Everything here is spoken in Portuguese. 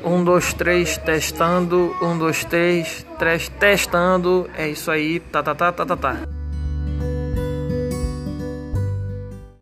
Um, dois, três, testando. Um, dois, três, testando. É isso aí. Tá.